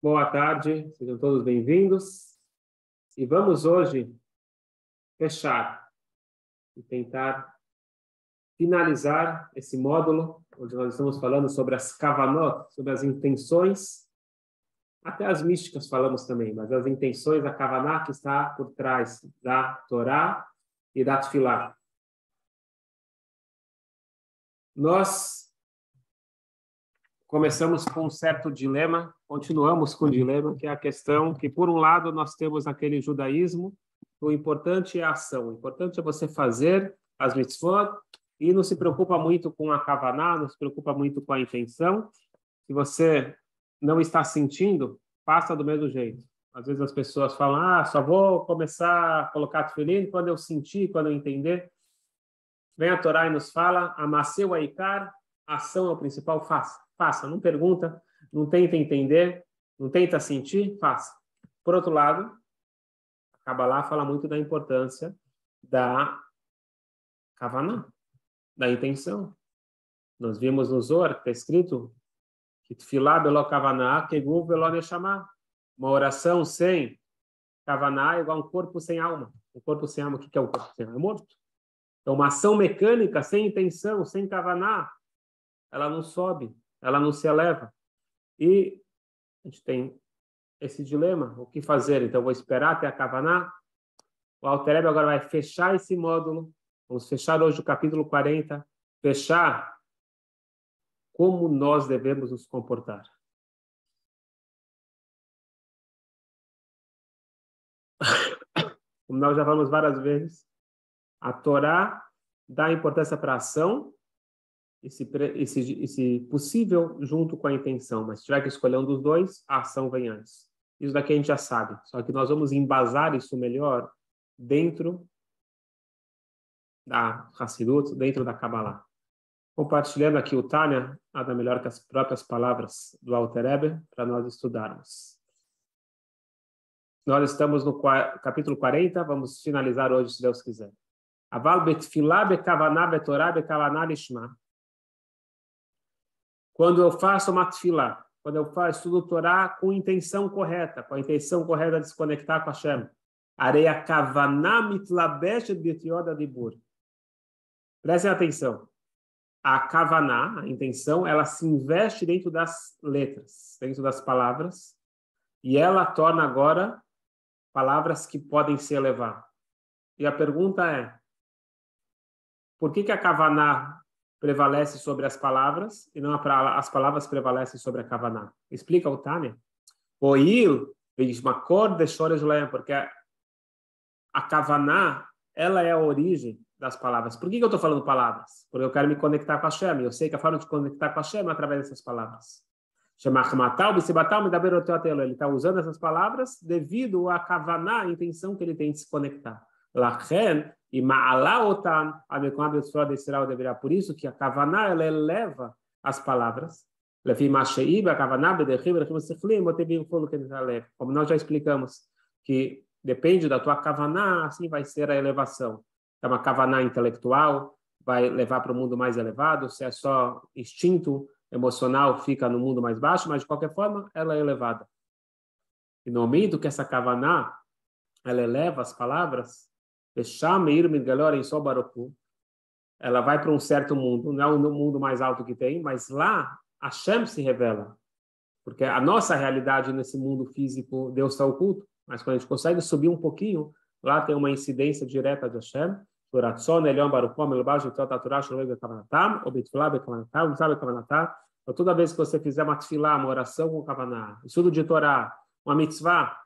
Boa tarde, sejam todos bem-vindos. E vamos hoje fechar e tentar finalizar esse módulo, onde nós estamos falando sobre as kavanot, sobre as intenções, até as místicas falamos também, mas as intenções da kavaná que está por trás da Torá e da Tfilá. Nós começamos com um certo dilema, continuamos com o dilema, que é a questão que, por um lado, nós temos aquele judaísmo, o importante é a ação, o importante é você fazer as mitzvot e não se preocupa muito com a kavaná, não se preocupa muito com a intenção. Se você não está sentindo, faça do mesmo jeito. Às vezes as pessoas falam, só vou começar a colocar tefilim quando eu sentir, quando eu entender. Vem a Torá e nos fala, amasseu a ikar, ação é o principal, faça, não pergunta, não tenta entender, não tenta sentir, faça. Por outro lado, a Kabbalah fala muito da importância da kavaná, da intenção. Nós vimos no Zohar, que está escrito que tefilá belo kavaná, keguv belo neshama. Uma oração sem kavaná é igual a um corpo sem alma. Um corpo sem alma, o que é um corpo sem alma? É morto. Então, uma ação mecânica, sem intenção, sem kavaná, ela não sobe, ela não se eleva. E a gente tem esse dilema, o que fazer? Então, vou esperar até a kavaná. O Alter Rebbe agora vai fechar esse módulo. Vamos fechar hoje o capítulo 40. Fechar como nós devemos nos comportar. Como nós já falamos várias vezes, a Torá dá importância para a ação, e se possível, junto com a intenção. Mas se tiver que escolher um dos dois, a ação vem antes. Isso daqui a gente já sabe. Só que nós vamos embasar isso melhor dentro da Hassidut, dentro da Kabbalah. Compartilhando aqui o Tânia, nada melhor que as próprias palavras do Alter Rebbe para nós estudarmos. Nós estamos no capítulo 40, vamos finalizar hoje, se Deus quiser. Aval betfilá bekavaná betorá bekavaná lishma. Quando eu faço uma tefilá, quando eu estudo Torá com intenção correta, com a intenção correta de se conectar com Hashem. Areia kavaná mitlabeshet betioda dibur. Prestem atenção. A kavaná, a intenção, ela se investe dentro das letras, dentro das palavras, e ela torna agora palavras que podem se elevar. E a pergunta é, por que a kavaná prevalece sobre as palavras e não as palavras prevalecem sobre a kavaná? Explica o Tânia. Porque a kavaná, ela é a origem das palavras. Por que eu estou falando palavras? Porque eu quero me conectar com a Hashem. Eu sei que a forma de conectar com a Hashem é através dessas palavras. Ele está usando essas palavras devido à kavaná, a intenção que ele tem de se conectar. Por isso que a kavaná, ela eleva as palavras. Como nós já explicamos, que depende da tua kavaná, assim vai ser a elevação. É uma kavaná intelectual, vai levar para o mundo mais elevado. Se é só instinto emocional, fica no mundo mais baixo, mas de qualquer forma, ela é elevada. E no momento que essa kavaná, ela eleva as palavras, ela vai para um certo mundo, não é o mundo mais alto que tem, mas lá Hashem se revela. Porque a nossa realidade nesse mundo físico, Deus está oculto, mas quando a gente consegue subir um pouquinho, lá tem uma incidência direta de Hashem. Então, toda vez que você fizer uma tefilá, uma oração com kavaná, estudo de Torá, uma mitzvah,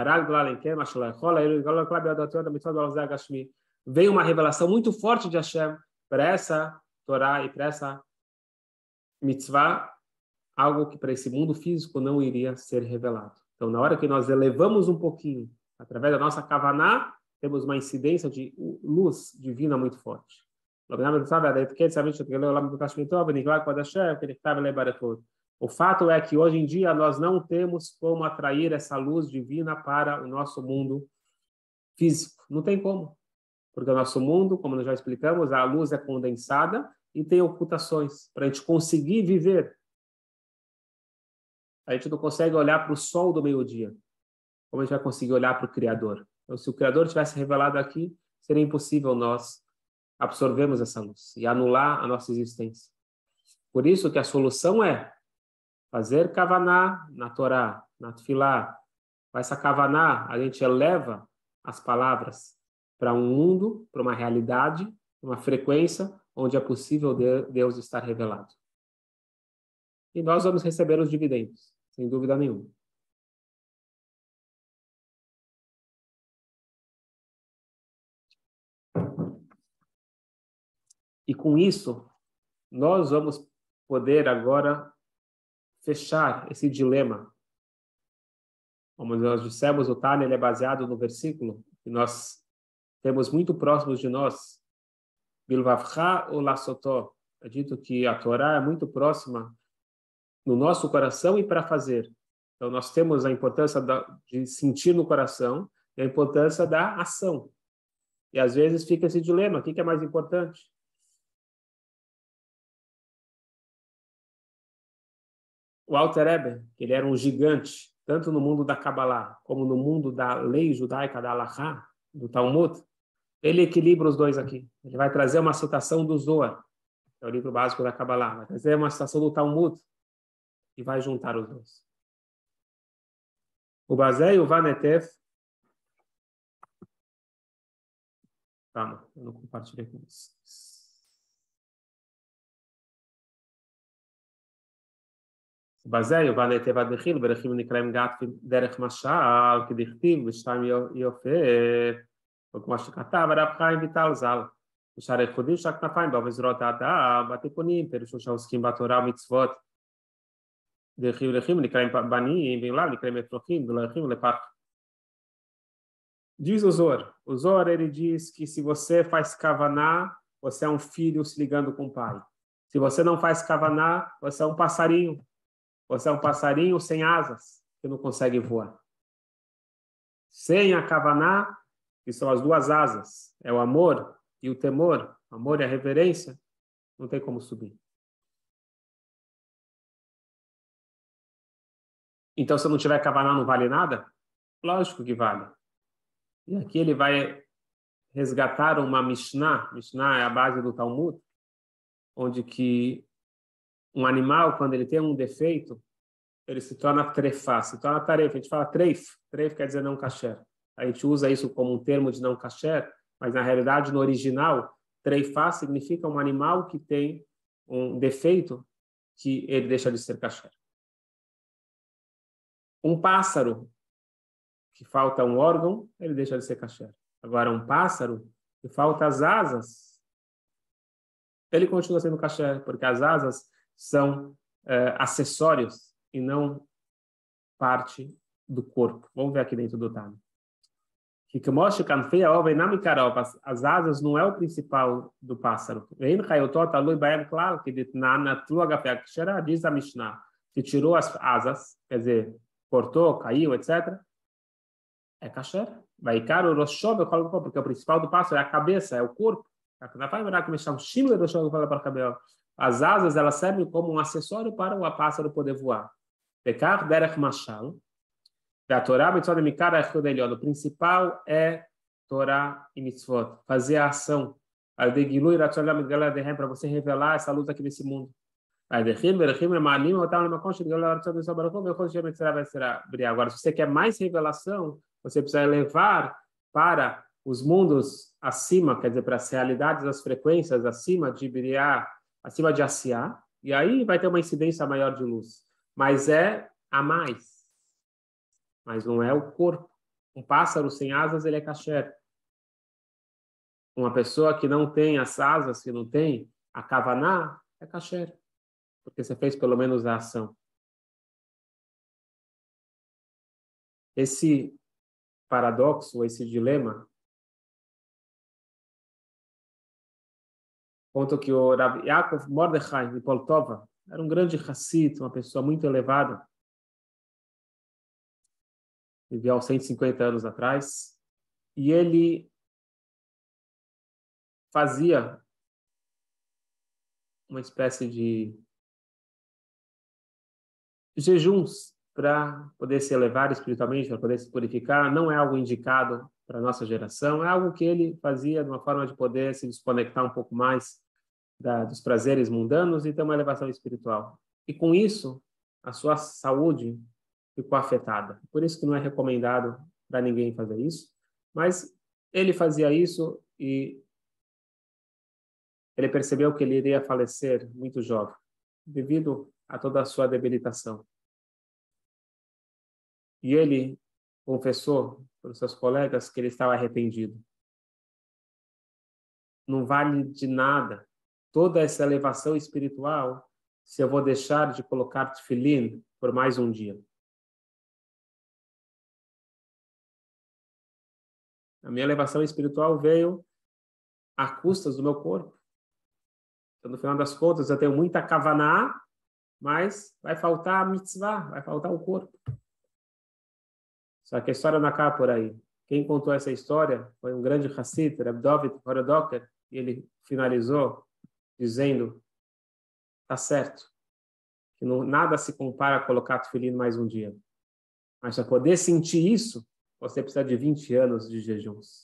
vem uma revelação muito forte de Hashem para essa Torá e para essa mitzvah, algo que para esse mundo físico não iria ser revelado. Então, na hora que nós elevamos um pouquinho, através da nossa kavaná, temos uma incidência de luz divina muito forte. O fato é que hoje em dia nós não temos como atrair essa luz divina para o nosso mundo físico. Não tem como. Porque o nosso mundo, como nós já explicamos, a luz é condensada e tem ocultações para a gente conseguir viver A gente não consegue olhar para o sol do meio-dia. Como a gente vai conseguir olhar para o Criador? Então, se o Criador tivesse revelado aqui, seria impossível nós absorvermos essa luz e anular a nossa existência. Por isso que a solução é fazer kavaná na Torá, na Tfilá. Com essa kavaná, a gente eleva as palavras para um mundo, para uma realidade, uma frequência onde é possível Deus estar revelado. E nós vamos receber os dividendos, sem dúvida nenhuma. E com isso, nós vamos poder agora fechar esse dilema. Como nós dissemos, o Tânia ele é baseado no versículo que nós temos muito próximos de nós. Bilvavcha ou Lassotó. É dito que a Torá é muito próxima no nosso coração e para fazer. Então, nós temos a importância de sentir no coração e a importância da ação. E, às vezes, fica esse dilema. O que é mais importante? O Alter Rebbe, que ele era um gigante, tanto no mundo da Kabbalah, como no mundo da lei judaica da Halachá, do Talmud, ele equilibra os dois aqui. Ele vai trazer uma citação do Zohar, que é o livro básico da Kabbalah, vai trazer uma citação do Talmud, e vai juntar os dois. O Bazé e o Vanetev. Calma, eu não compartilhei com vocês. בזה יובן היטב עד דחיל, ברכיב נקראים גת דרך משל, כדכתיב, ושתיים יופה, וכמו שכתב הרב חיים ויטל ז"ל, ושאר הייחודים של הכנפיים בה וזרועות האדם, בתיקונים, פירושו שעוסקים בתורה ומצוות, דרכיב נקראים בנים, ואולם נקראים אפרוחים, ולא רכיב לפח. Diz o Zohar ele diz que se você faz kavaná, você é um filho se ligando com o pai. Se você não faz kavaná, você é um passarinho. Você é um passarinho sem asas, que não consegue voar. Sem a kavaná, que são as duas asas, é o amor e o temor, o amor e a reverência, não tem como subir. Então, se não tiver kavaná, não vale nada? Lógico que vale. E aqui ele vai resgatar uma Mishnah. Mishnah é a base do Talmud, onde que um animal, quando ele tem um defeito, ele se torna trefá, se torna tarefa. A gente fala treif. Treif quer dizer não kasher. A gente usa isso como um termo de não kasher, mas na realidade, no original, treifá significa um animal que tem um defeito que ele deixa de ser kasher. Um pássaro que falta um órgão, ele deixa de ser kasher. Agora, um pássaro que falta as asas, ele continua sendo kasher, porque as asas são acessórios e não parte do corpo. Vamos ver aqui dentro do Tânia. As asas não é o principal do pássaro. Diz a Mishnah, se tirou as asas, quer dizer, cortou, caiu, etc., é kasher. Vai caro porque o principal do pássaro é a cabeça, é o corpo. As asas elas servem como um acessório para o pássaro poder voar. Pecar derech mashal. Da Torá, o principal é Torá e mitzvot. Fazer a ação. Para você revelar essa luz aqui nesse mundo. Agora, se você quer mais revelação, você precisa levar para os mundos acima, quer dizer, para as realidades, as frequências acima de Biriá, acima de Asiá, e aí vai ter uma incidência maior de luz. Mas é a mais. Mas não é o corpo. Um pássaro sem asas, ele é kasher. Uma pessoa que não tem as asas, que não tem a kavaná, é kasher. Porque você fez pelo menos a ação. Esse paradoxo, esse dilema, conta que o Rav Yaakov Mordechai de Poltova era um grande Hassid, uma pessoa muito elevada, viveu há 150 anos atrás, e ele fazia uma espécie de jejuns para poder se elevar espiritualmente, para poder se purificar, não é algo indicado para a nossa geração, é algo que ele fazia de uma forma de poder se desconectar um pouco mais dos prazeres mundanos e ter uma elevação espiritual. E com isso, a sua saúde ficou afetada. Por isso que não é recomendado para ninguém fazer isso, mas ele fazia isso e ele percebeu que ele iria falecer muito jovem, devido a toda a sua debilitação. E ele confessou para os seus colegas que ele estava arrependido. Não vale de nada toda essa elevação espiritual se eu vou deixar de colocar tefilim por mais um dia. A minha elevação espiritual veio a custas do meu corpo. Então, no final das contas, eu tenho muita kavaná, mas vai faltar a mitzvah, vai faltar o corpo. Só que a história não acaba por aí. Quem contou essa história foi um grande Hassid, Reb Dovid Horodoker, e ele finalizou dizendo, tá certo, que nada se compara a colocar tefilim mais um dia. Mas para poder sentir isso, você precisa de 20 anos de jejuns.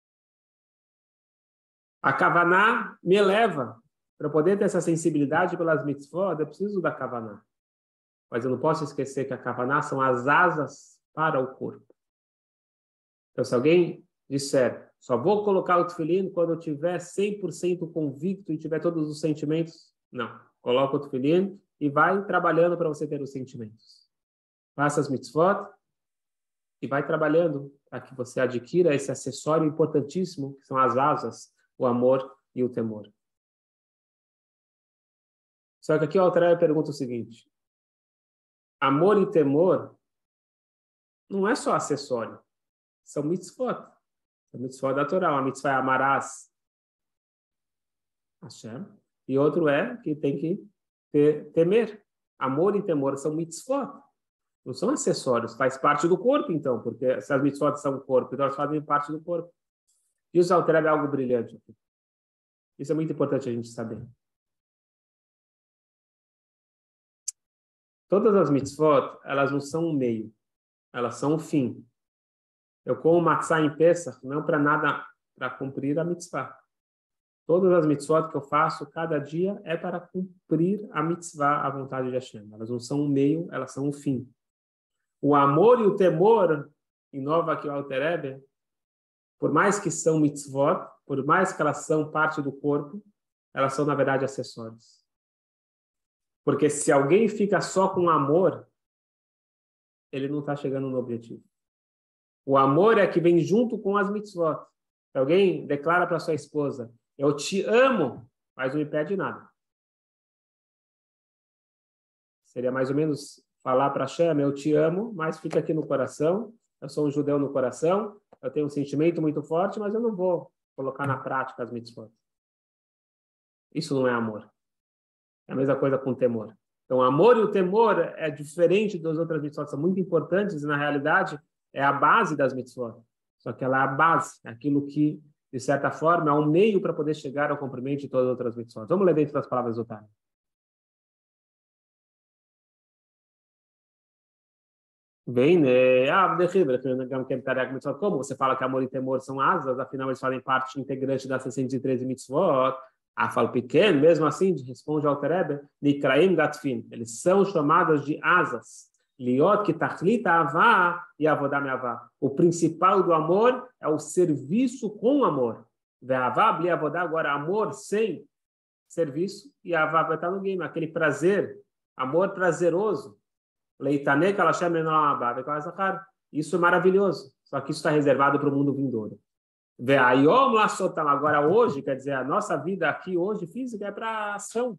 A kavaná me eleva. Para poder ter essa sensibilidade pelas mitzvot, eu preciso da kavaná. Mas eu não posso esquecer que a kavaná são as asas para o corpo. Então, se alguém disser, só vou colocar o tefilim quando eu tiver 100% convicto e tiver todos os sentimentos, não. Coloca o tefilim e vai trabalhando para você ter os sentimentos. Faça as mitzvot e vai trabalhando para que você adquira esse acessório importantíssimo, que são as asas, o amor e o temor. Só que aqui o Alter Rebbe pergunta o seguinte, amor e temor não é só acessório, são mitzvot. São mitzvot da Torá. Uma mitzvah é amarás Hashem, e outro é que tem que temer. Amor e temor são mitzvot. Não são acessórios, faz parte do corpo, então, porque se as mitzvot são o corpo, então elas fazem parte do corpo. E o Alter Rebbe é algo brilhante aqui. Isso é muito importante a gente saber. Todas as mitzvot, elas não são o meio, elas são o fim. Eu como matzah em Pesach, não para nada, para cumprir a mitzvah. Todas as mitzvot que eu faço, cada dia, é para cumprir a mitzvah, a vontade de Hashem. Elas não são o meio, elas são o fim. O amor e o temor, inova aqui o Alter Rebbe, por mais que são mitzvot, por mais que elas são parte do corpo, elas são, na verdade, acessórios. Porque se alguém fica só com amor, ele não está chegando no objetivo. O amor é que vem junto com as mitzvot. Se alguém declara para sua esposa, eu te amo, mas não me pede nada. Seria mais ou menos falar para Hashem, eu te amo, mas fica aqui no coração, eu sou um judeu no coração, eu tenho um sentimento muito forte, mas eu não vou colocar na prática as mitzvot. Isso não é amor. É a mesma coisa com o temor. Então, o amor e o temor é diferente das outras mitzvot, são muito importantes e, na realidade, é a base das mitzvot. Só que ela é a base, é aquilo que, de certa forma, é um meio para poder chegar ao cumprimento de todas as outras mitzvot. Vamos ler dentro das palavras do Tânia. Vem, né? Como você fala que amor e temor são asas, afinal eles fazem parte integrante das 613 mitzvot. Fala pequeno, mesmo assim, responde ao Alter Rebbe, Nikraim Gatfin. Eles são chamados de asas. Liot que tachlita avá e avodá meavá. O principal do amor é o serviço com amor. Veavá, bli avodá, agora amor sem serviço, e avá vai estar no game, aquele prazer, amor prazeroso. Leitane kalashem menolabá, isso é maravilhoso. Só que isso está reservado para o mundo vindouro. Agora hoje, quer dizer, a nossa vida aqui hoje física é para ação.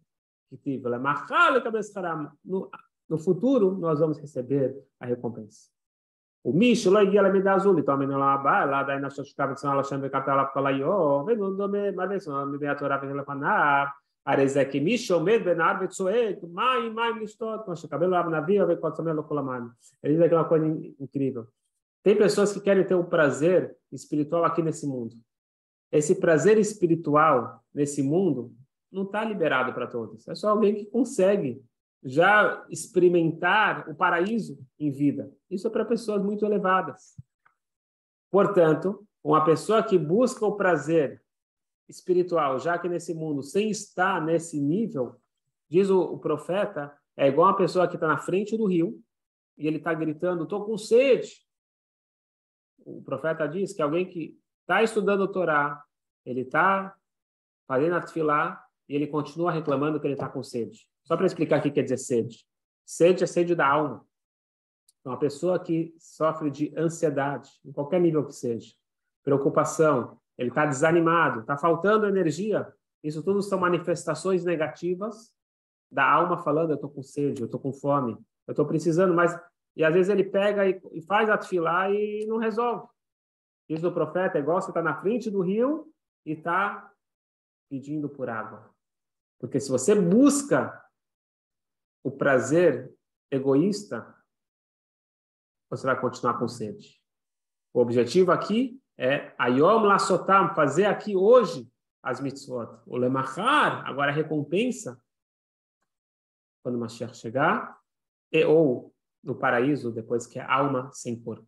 No futuro, nós vamos receber a recompensa. O Mish, lá em ela me dá azul, então lá daí nós ficava dizendo ela chama capela para lá vem no nome, mas me vem a Torá vem lá para Arezek Mish, o medo benar betsoek, mai listot, com o cabelo lá na via, vem com o samelo colamano. Ele diz aquela coisa incrível. Tem pessoas que querem ter um prazer espiritual aqui nesse mundo. Esse prazer espiritual nesse mundo não está liberado para todos. É só alguém que consegue já experimentar o paraíso em vida. Isso é para pessoas muito elevadas. Portanto, uma pessoa que busca o prazer espiritual, já que nesse mundo, sem estar nesse nível, diz o profeta, é igual uma pessoa que está na frente do rio e ele está gritando, estou com sede. O profeta diz que alguém que está estudando o Torá, ele está fazendo a tefilá e ele continua reclamando que ele está com sede. Só para explicar o que quer dizer sede. Sede é sede da alma. Então, uma pessoa que sofre de ansiedade, em qualquer nível que seja, preocupação, ele está desanimado, está faltando energia, isso tudo são manifestações negativas da alma falando, eu estou com sede, eu estou com fome, eu estou precisando, mas... E às vezes ele pega e faz a tefilá e não resolve. Diz o profeta, é igual você está na frente do rio e está pedindo por água. Porque se você busca o prazer egoísta, você vai continuar com sede. O objetivo aqui é Ayom Lasotam, fazer aqui hoje as mitzvot. O Lemachar, agora a recompensa, quando o Mashiach chegar, ou no paraíso, depois que é alma sem corpo.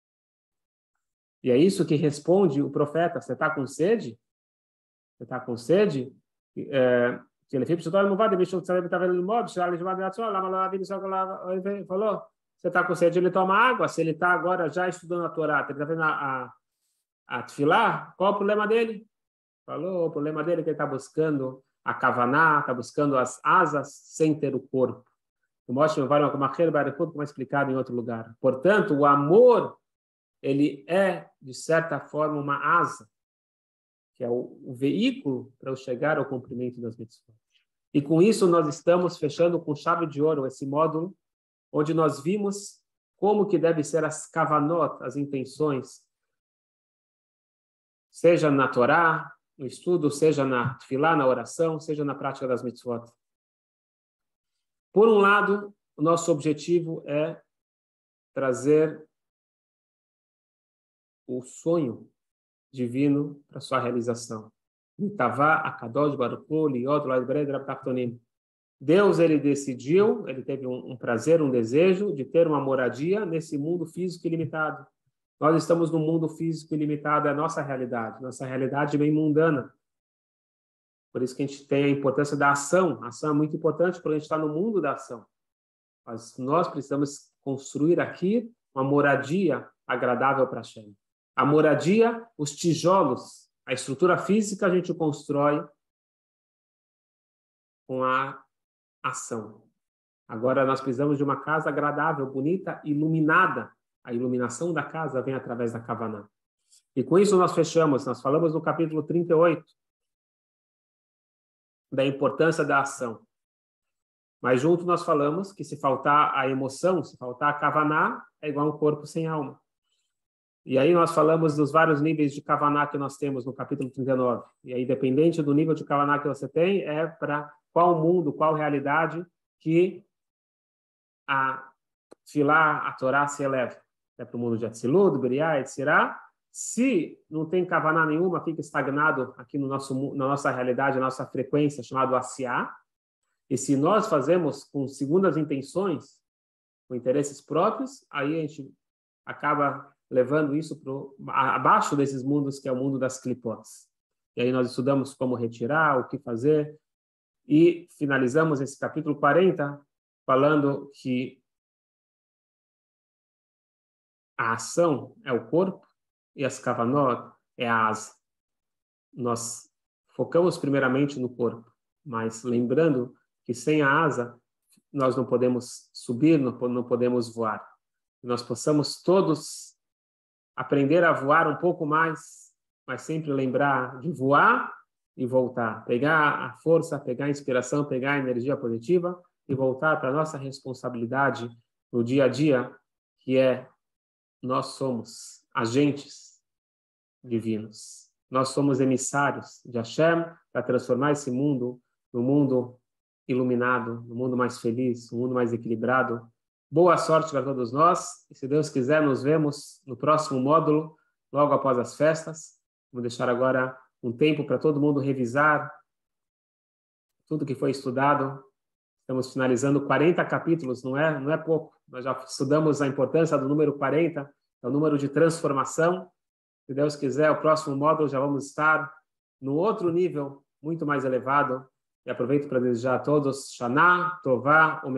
E é isso que responde o profeta. Você está com sede? Você está com sede? Falou, você está com sede, ele toma água. Se ele está agora já estudando a Torá, ele está vendo a tefilá, qual o problema dele? Falou, o problema dele é que ele está buscando a kavaná, está buscando as asas sem ter o corpo. O Moshe como é explicado em outro lugar. Portanto, o amor, ele é, de certa forma, uma asa, que é o veículo para eu chegar ao cumprimento das mitzvot. E com isso nós estamos fechando com chave de ouro esse módulo, onde nós vimos como que deve ser as kavanot, as intenções, seja na Torá, no estudo, seja na tefilá, na oração, seja na prática das mitzvot. Por um lado, o nosso objetivo é trazer o sonho divino para sua realização. Deus, ele decidiu, ele teve um prazer, um desejo de ter uma moradia nesse mundo físico ilimitado. Nós estamos no mundo físico ilimitado, é a nossa realidade bem mundana. Por isso que a gente tem a importância da ação. A ação é muito importante porque a gente está no mundo da ação. Mas nós precisamos construir aqui uma moradia agradável para Hashem. A moradia, os tijolos, a estrutura física a gente constrói com a ação. Agora nós precisamos de uma casa agradável, bonita, iluminada. A iluminação da casa vem através da Kavaná. E com isso nós fechamos, nós falamos no capítulo 38 da importância da ação. Mas junto nós falamos que se faltar a emoção, se faltar a Kavaná, é igual um corpo sem alma. E aí nós falamos dos vários níveis de Kavaná que nós temos no capítulo 39. E aí, dependente do nível de Kavaná que você tem, é para qual mundo, qual realidade que a Tfilá, a Torá se eleva. É para o mundo de Atzilut, Beriá, etc. Se não tem Kavaná nenhuma, fica estagnado aqui no na nossa realidade, na nossa frequência, chamado Asiá. E se nós fazemos com segundas intenções, com interesses próprios, aí a gente acaba levando isso abaixo desses mundos, que é o mundo das clipotes. E aí nós estudamos como retirar, o que fazer, e finalizamos esse capítulo 40 falando que a ação é o corpo e as kavanot é a asa. Nós focamos primeiramente no corpo, mas lembrando que sem a asa nós não podemos subir, não podemos voar. Que nós possamos todos aprender a voar um pouco mais, mas sempre lembrar de voar e voltar. Pegar a força, pegar a inspiração, pegar a energia positiva e voltar para a nossa responsabilidade no dia a dia, que é nós somos agentes divinos. Nós somos emissários de Hashem para transformar esse mundo num mundo iluminado, num mundo mais feliz, num mundo mais equilibrado. Boa sorte para todos nós. E se Deus quiser, nos vemos no próximo módulo, logo após as festas. Vou deixar agora um tempo para todo mundo revisar tudo que foi estudado, Estamos finalizando 40 capítulos, não é pouco. Nós já estudamos a importância do número 40, é o número de transformação. Se Deus quiser, o próximo módulo já vamos estar no outro nível, muito mais elevado. E aproveito para desejar a todos Shana Tová.